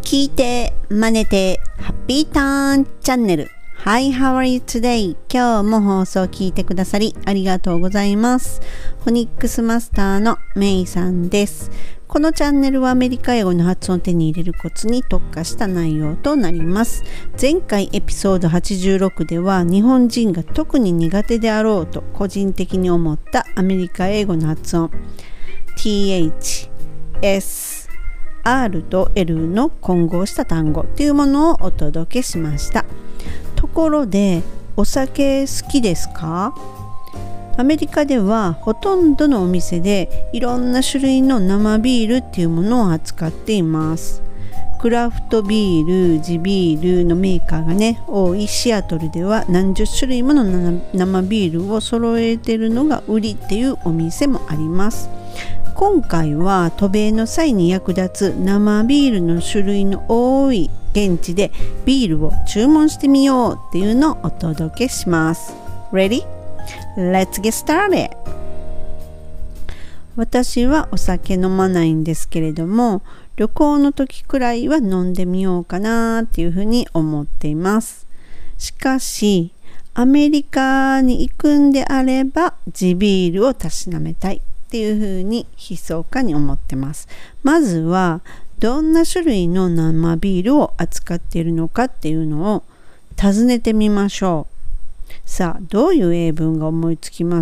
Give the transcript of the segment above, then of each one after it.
聞いて、真似て、ハッピーターンチャンネル。Hi, how are you today? 今日も放送を聞いてくださりありがとうございます。フォニックスマスターのメイさんです。このチャンネルはアメリカ英語の発音を手に入れるコツに特化した内容となります。前回エピソード86では日本人が特に苦手であろうと個人的に思ったアメリカ英語の発音 TH、S、R と L の混合した単語というものをお届けしました。ところでお酒好きですか？アメリカではほとんどのお店でいろんな種類の生ビールっていうものを扱っています。クラフトビール、地ビールのメーカーがね多いシアトルでは何十種類もの生ビールを揃えているのが売りっていうお店もあります。今回は渡米の際に役立つ生ビールの種類の多い現地でビールを注文してみようっていうのをお届けします。Ready? Let's get started! 私はお酒飲まないんですけれども、旅行の時くらいは飲んでみようかなっていうふうに思っています。しかし、アメリカに行くんであれば地ビールをたしなめたいっていうふうに密かに思ってます。まずはどんな種類の生ビールを扱っているのかっていうのを尋ねてみましょう。さあ、どういう英文が思いつきます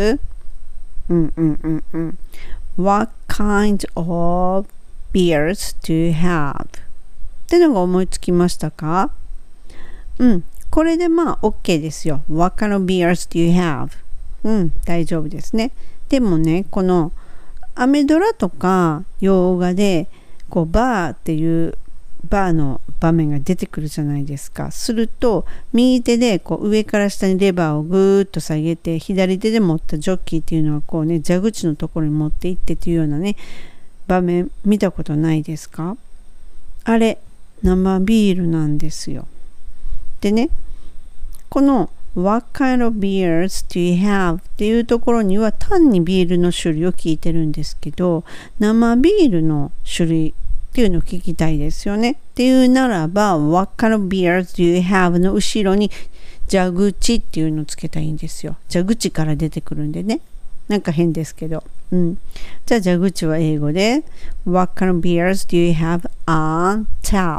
？What kind of beers do you have? ってのが思いつきましたか？これでまあ OK ですよ。What kind of beers do you have? 大丈夫ですね。でもね、このアメドラとか洋画でこうバーっていうバーの場面が出てくるじゃないですか。すると右手でこう上から下にレバーをぐーっと下げて、左手で持ったジョッキーっていうのはこうね蛇口のところに持っていってっていうようなね場面見たことないですか？あれ生ビールなんですよ。でね、このWhat kind of beers do you have? っていうところには単にビールの種類を聞いてるんですけど、生ビールの種類っていうのを聞きたいですよね。っていうならば What kind of beers do you have? の後ろに蛇口っていうのをつけたいんですよ。蛇口から出てくるんでね。なんか変ですけど。じゃあ蛇口は英語で What kind of beers do you have on tap?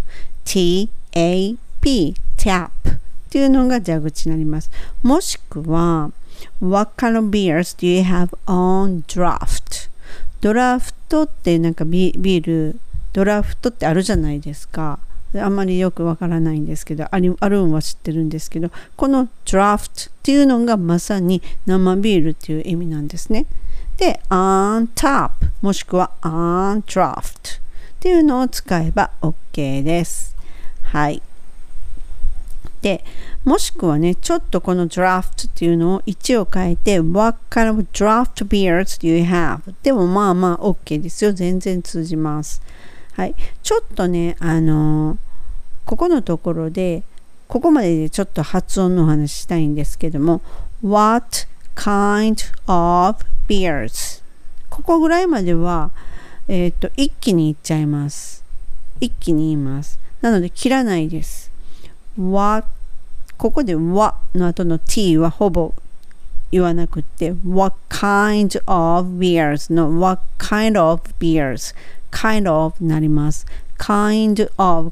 T-A-P tapっていうのが蛇口になります。もしくは What kind of beers do you have on draft? ドラフトってなんかビールドラフトってあるじゃないですか。あんまりよくわからないんですけど、あるんは知ってるんですけど、この draft っていうのがまさに生ビールっていう意味なんですね。で on tap もしくは on draft っていうのを使えば OK です。はい。でもしくはね、ちょっとこの draft っていうのを位置を変えて What kind of draft beers do you have? でもまあまあ OK ですよ。全然通じます。はい。ちょっとね、ここのところでここまででちょっと発音のお話したいんですけども What kind of beers? ここぐらいまでは一気に言っちゃいます。一気に言います。なので切らないです。ここで what の後の t はほぼ言わなくて what kind of beers の what kind of beers kind of なります。kind of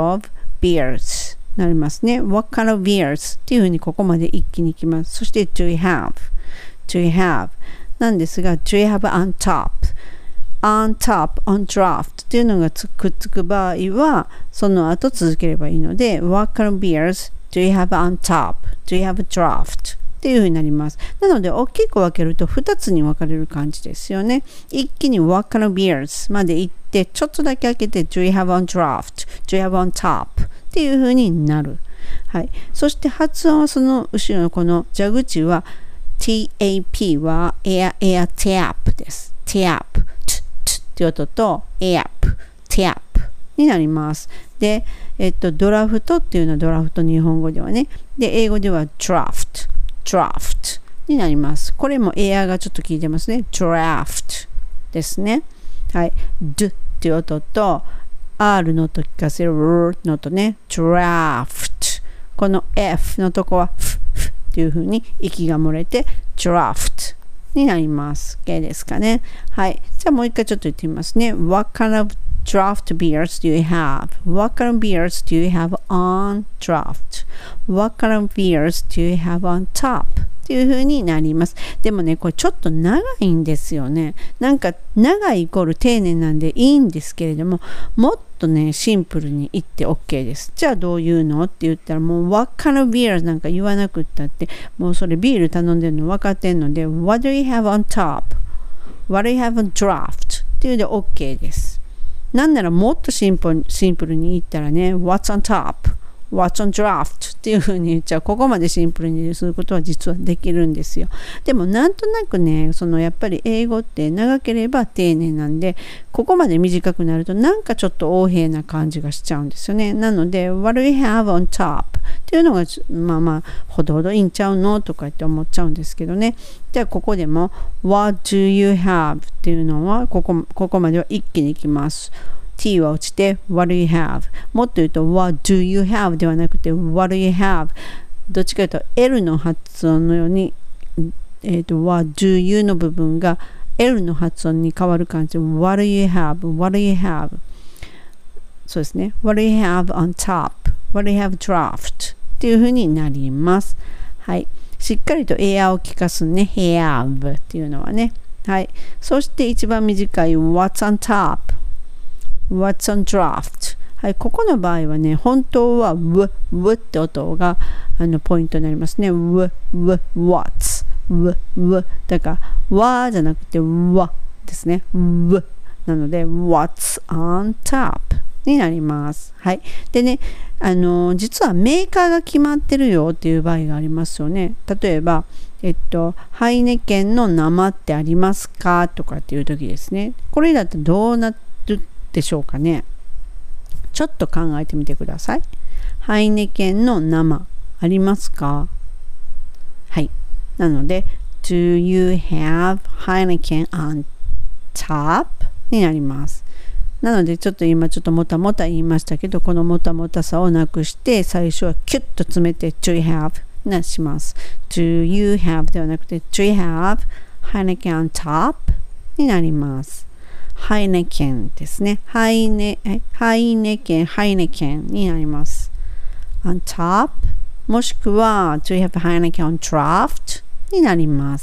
beers なりますね。what kind of beers っていうふうにここまで一気にいきます。そして do you have なんですが do you have on top on draft っていうのがくっつく場合はその後続ければいいので What kind of beers do you have on top? Do you have a draft? っていう風になります。なので大きく分けると2つに分かれる感じですよね。一気に What kind of beers まで行ってちょっとだけ開けて Do you have on draft? Do you have on top? っていう風になる。はい。そして発音はその後ろのこの蛇口は TAP は air tap です。tapっていう音と tap になります。で、ドラフトっていうのはドラフト日本語ではね。で、英語では draft になります。これもエアがちょっと効いてますね。draft ですね。はい。d っていう音と R の音聞かせる R の音ね。draft。この F のとこはフっていう風に息が漏れて draft になります。OK ですかね。はい。じゃあもう一回ちょっと言ってみますね。What kind of draft beers do you have? What kind of beers do you have on draft? What kind of beers do you have on top? っていう風になります。でもね、これちょっと長いんですよね。なんか長いイコール丁寧なんでいいんですけれども、もっとね、シンプルに言って OK です。じゃあどういうのって言ったら、もう What kind of beers なんか言わなくったって、もうそれビール頼んでるの分かってんので、What do you have on top? What do you have on draft? っていうので OK です。なんならもっとシンプルに言ったらね、What's on top?What's on draft? っていう風に言っちゃう。ここまでシンプルにすることは実はできるんですよ。でもなんとなくね、やっぱり英語って長ければ丁寧なんで、ここまで短くなるとなんかちょっと横柄な感じがしちゃうんですよね。なので、What do you have on top? っていうのがほどほどいいんちゃうのとか言って思っちゃうんですけどね。じゃあここでも What do you have? っていうのはここまでは一気にいきます。T は落ちて What do you have? もっと言うと What do you have? ではなくて What do you have? どっちかというと L の発音のように、What do you の部分が L の発音に変わる感じで What do you have? What do you have? そうですね。What do you have on top? What do you have draft? っていう風になります。はい。しっかりとエアを聞かすね。have っていうのはね。はい。そして一番短い What's on top?What's on draft? はい、ここの場合はね、本当は w って音がポイントになりますね。what's w だから じゃなくて ですね。なので What's on top になります。はい。でね、実はメーカーが決まってるよっていう場合がありますよね。例えば、ハイネケンの生ってありますかとかっていう時ですね。これだとどうなるでしょうかね。ちょっと考えてみてください。ハイネケンの生ありますか？はい。なので Do you have Heineken on top? になります。なのでちょっと今ちょっともたもた言いましたけど、このもたもたさをなくして最初はキュッと詰めて Do you have? なします。Do you have? ではなくて Do you have Heineken on top? になります。ハイネケンですね。ハイネケンになります。on top もしくは Do you have Heineken on draft? になります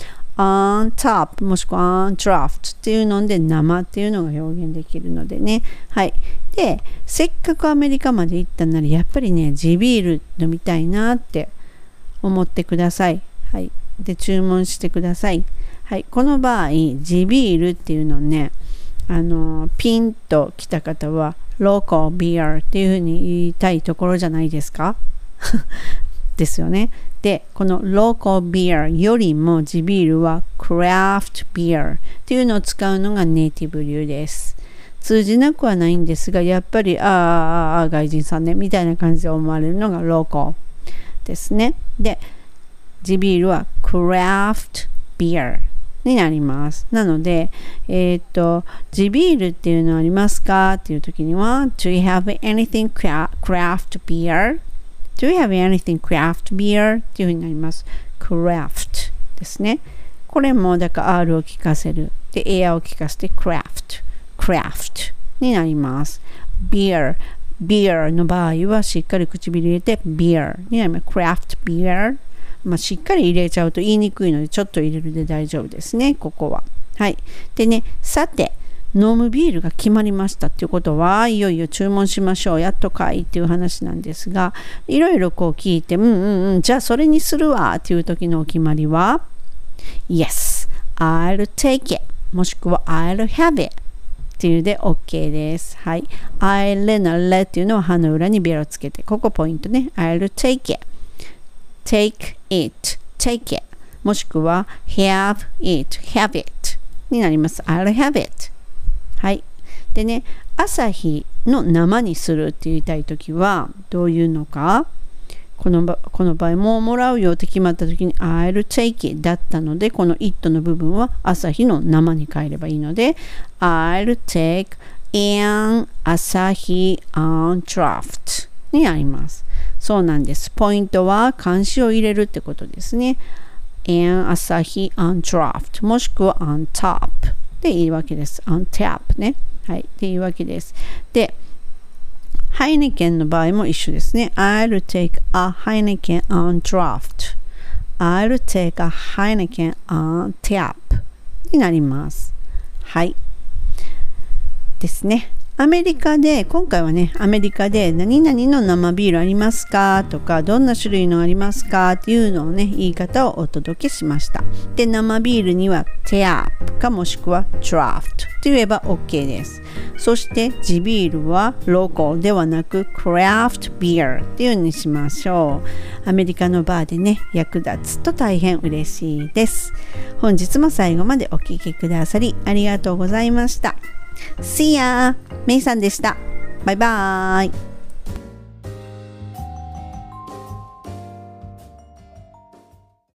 。on top もしくは on draft っていうので生っていうのが表現できるのでね。はい。で、せっかくアメリカまで行ったならやっぱりね、地ビール飲みたいなって思ってください。はい。で、注文してください。はい、この場合、地ビールっていうのをね、ピンと来た方は、ローカルビアっていうふうに言いたいところじゃないですかですよね。で、このローカルビアよりも地ビールはクラフトビアっていうのを使うのがネイティブ流です。通じなくはないんですが、やっぱり、外人さんね、みたいな感じで思われるのがローカルですね。で、地ビールはクラフトビアになります。なので、地ビールっていうのありますかっていう時には Do you have anything craft beer? Do you have anything craft beer? っていうふうになります。craft ですね。これもだから R を聞かせる。で、AR を聞かせて craft になります。beer の場合はしっかり唇入れて beer になります。craft beerしっかり入れちゃうと言いにくいのでちょっと入れるで大丈夫ですね、ここは。はい。でね、さて、飲むビールが決まりましたっていうことは、いよいよ注文しましょう、やっとかいっていう話なんですが、いろいろこう聞いて、じゃあそれにするわっていう時のお決まりは、Yes, I'll take it もしくは I'll have itっていうで OK です。はい。I'll の le っていうのは歯の裏にベロつけて、ここポイントね。I'll take it。take it もしくは have it になります。I'll have it はい。でね、朝日の生にするって言いたいときはどういうのか、この場合もうもらうよって決まったときに I'll take it だったので、この it の部分は朝日の生に変えればいいので I'll take an Asahi on draft になります。そうなんです。ポイントは漢詞を入れるってことですね。and Asahi on draft もしくは on top でいいわけです。on tap ね。はい。っていうわけです。で、ハイネケンの場合も一緒ですね。I'll take a Heineken on draft.I'll take a Heineken on tap になります。はい。ですね。アメリカで、今回はね、アメリカで何々の生ビールありますかとか、どんな種類のありますかっていうのをね、言い方をお届けしました。で、生ビールには tap かもしくは draft と言えば OK です。そして地ビールは local ではなく craft beer っていうにしましょう。アメリカのバーでね、役立つと大変嬉しいです。本日も最後までお聞きくださりありがとうございました。See ya! メイさんでした。バイバーイ。